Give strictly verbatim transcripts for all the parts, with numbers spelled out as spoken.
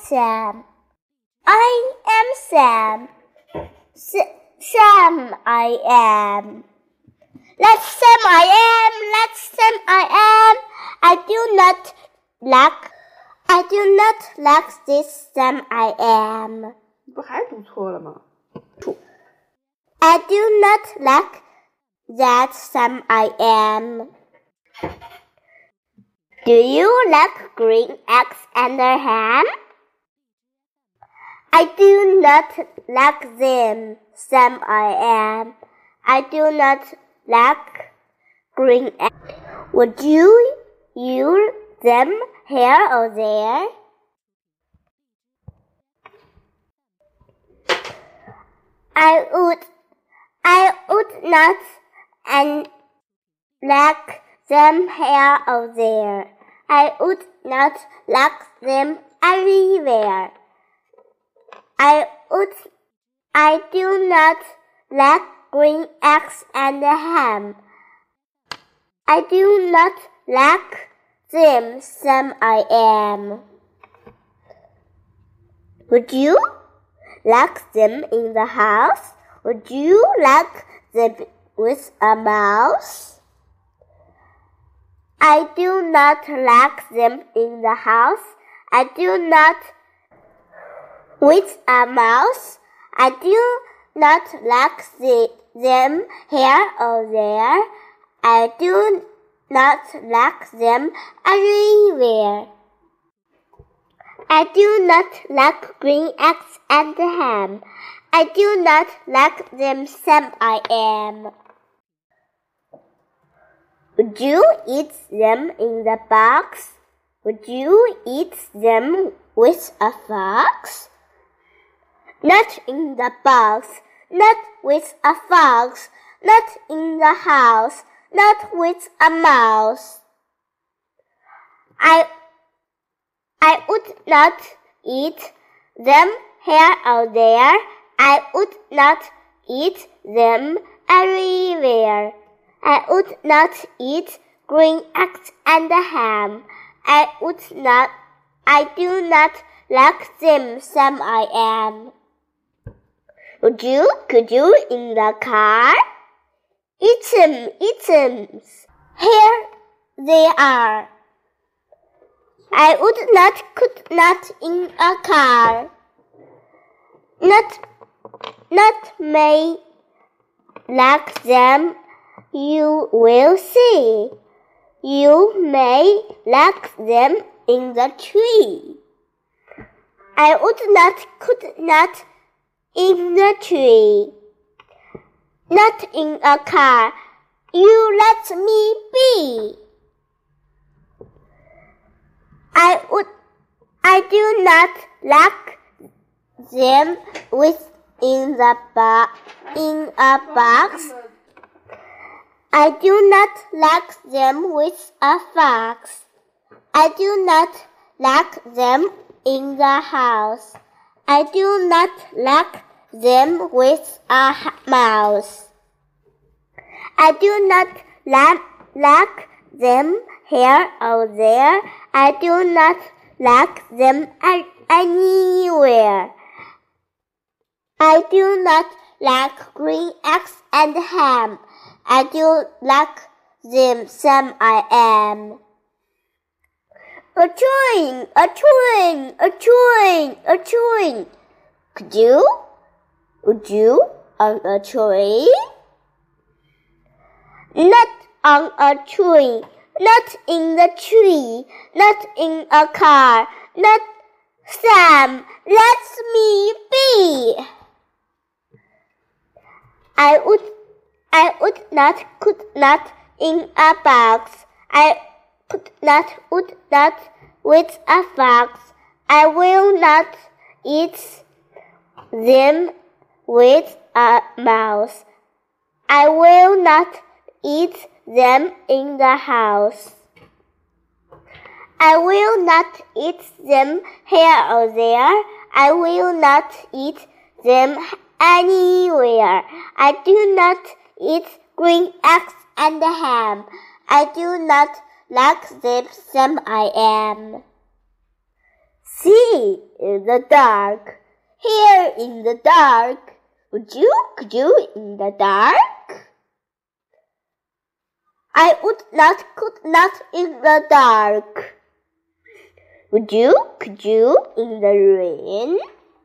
Sam. I am Sam. S- Sam I am. Let's Sam I am. Let's Sam I am. I do not like. I do not like this Sam I am. 不还读错了吗？ I do not like that Sam I am. Do you like green eggs and ham? I do not like them, Sam I am. I do not like green eggs. Would you use them here or there? I would, I would not and like them here or there. I would not like them everywhere. I would, I do not like green eggs and ham. I do not like them, Sam I am. Would you like them in the house? Would you like them with a mouse? I do not like them in the house. I do not with a mouse. I do not like the, them here or there. I do not like them everywhere. I do not like green eggs and ham. I do not like them, Sam I am. Would you eat them in the box? Would you eat them with a fox? Not in the box, not with a fox, not in the house, not with a mouse. I I would not eat them here or there. I would not eat them everywhere. I would not eat green eggs and ham. I would not, I do not like them, Sam I am. Would you, could you in the car? Eat them, eat them. Here they are. I would not, could not in a car. Not, not may like them, you will see. You may like them in the tree. I would not, could not in the tree. Not in a car. You let me be. I would, I do not like them with in the bo- in a box. I do not like them with a fox. I do not like them in the house. I do not like them with a mouse. I do not like, like them here or there. I do not like them anywhere. I do not like green eggs and ham. I do like them, Sam I am. A train, a train, a train, a train. Could you? Would you on a train? Not on a tree, not in the tree, not in a car, not Sam, let me be. I would, I would not, could not in a box. I could not, would not with a fox. I will not eat them with a mouse. I will not eat them in the house. I will not eat them here or there. I will not eat them anywhere. I do not eat green eggs and ham. I do not like them, Sam I am. See in the dark, here in the dark. Would you, could you in the dark? I would not, could not in the dark. Would you, could you in the rain?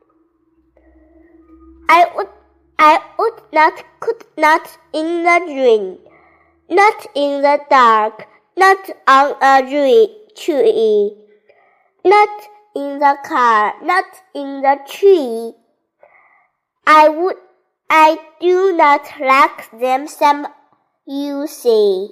I would, I would not, could not in the rain. Not in the dark, not on a tree. Not in the car, not in the tree. I would, I do not like them, some you say.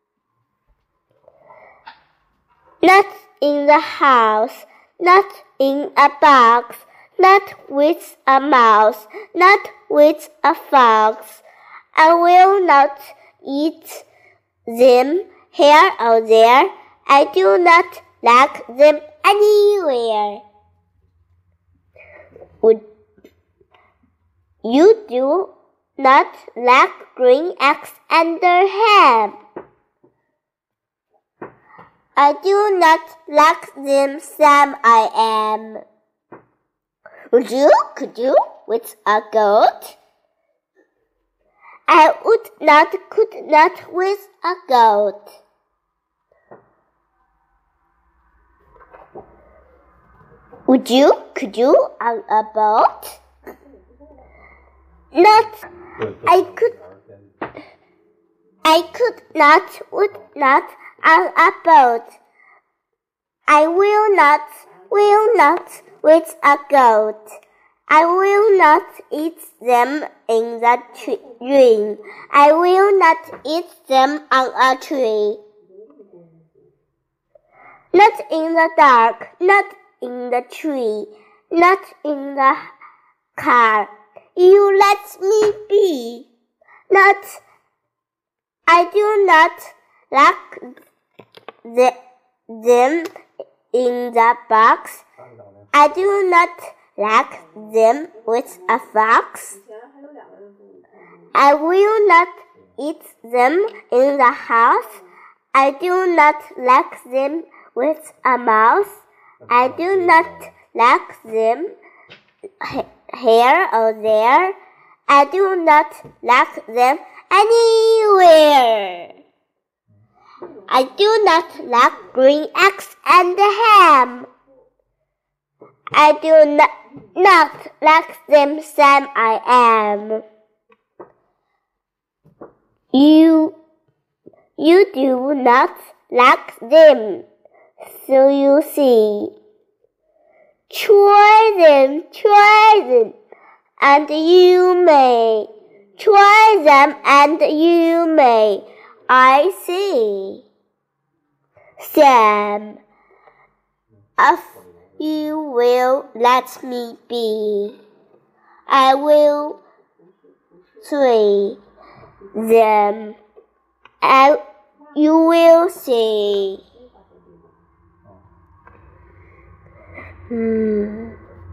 Not in the house, not in a box, not with a mouse, not with a fox. I will not eat them here or there. I do not like them anywhere. Would you do not like green eggs and ham? I do not like them, Sam I am. Would you, could you, with a goat? I would not, could not with a goat. Would you, could you, on a boat? Not, I could, I could not, would not, on a boat. I will not, will not, with a goat. I will not eat them in the tree. I will not eat them on a tree. Not in the dark, not in the tree, not in the car. You let me be. Not, I do not like the, them in the box. I do not like them with a fox. I will not eat them in the house. I do not like them with a mouse. I do not like them here or there. I do not like them anywhere. I do not like green eggs and ham. I do not, not like them, Sam I am. You, you do not like them, so you see. Try them, try them, and you may. Try them and you may. I see. Sam, if you will let me be, I will see them, and you will see. Hmm.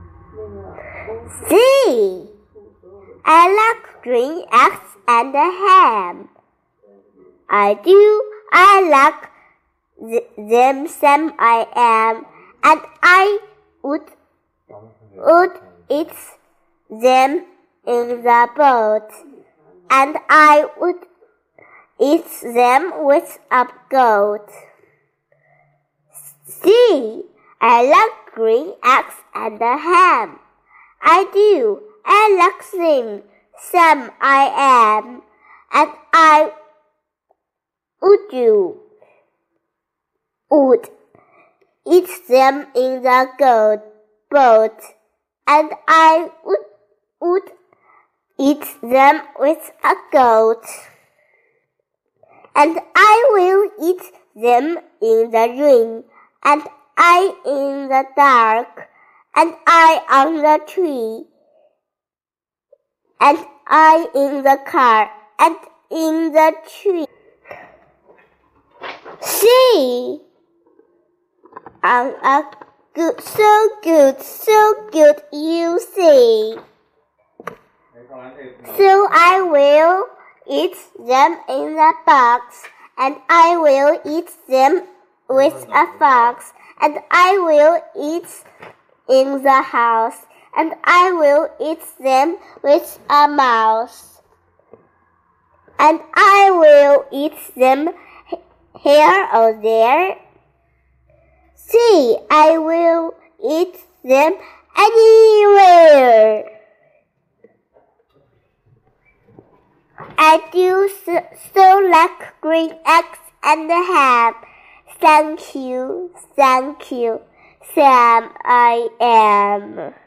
See, I like green eggs and ham. I do, I like th them, Sam I am, and I would, would eat them in the boat, and I would eat them with a goat. See, I like green eggs and ham. I do, I like them, Sam I am, and I would do, would eat them in the goat boat, and I would, would eat them with a goat, and I will eat them in the rain, and I in the dark, and I on the tree, and I in the car, and in the tree. See, on a good, so good, so good, you see. So I will eat them in the box, and I will eat them with a fox, and I will eat in the house, and I will eat them with a mouse. And I will eat them here or there. See, I will eat them anywhere. I do so like green eggs and ham. Thank you, thank you, Sam I am.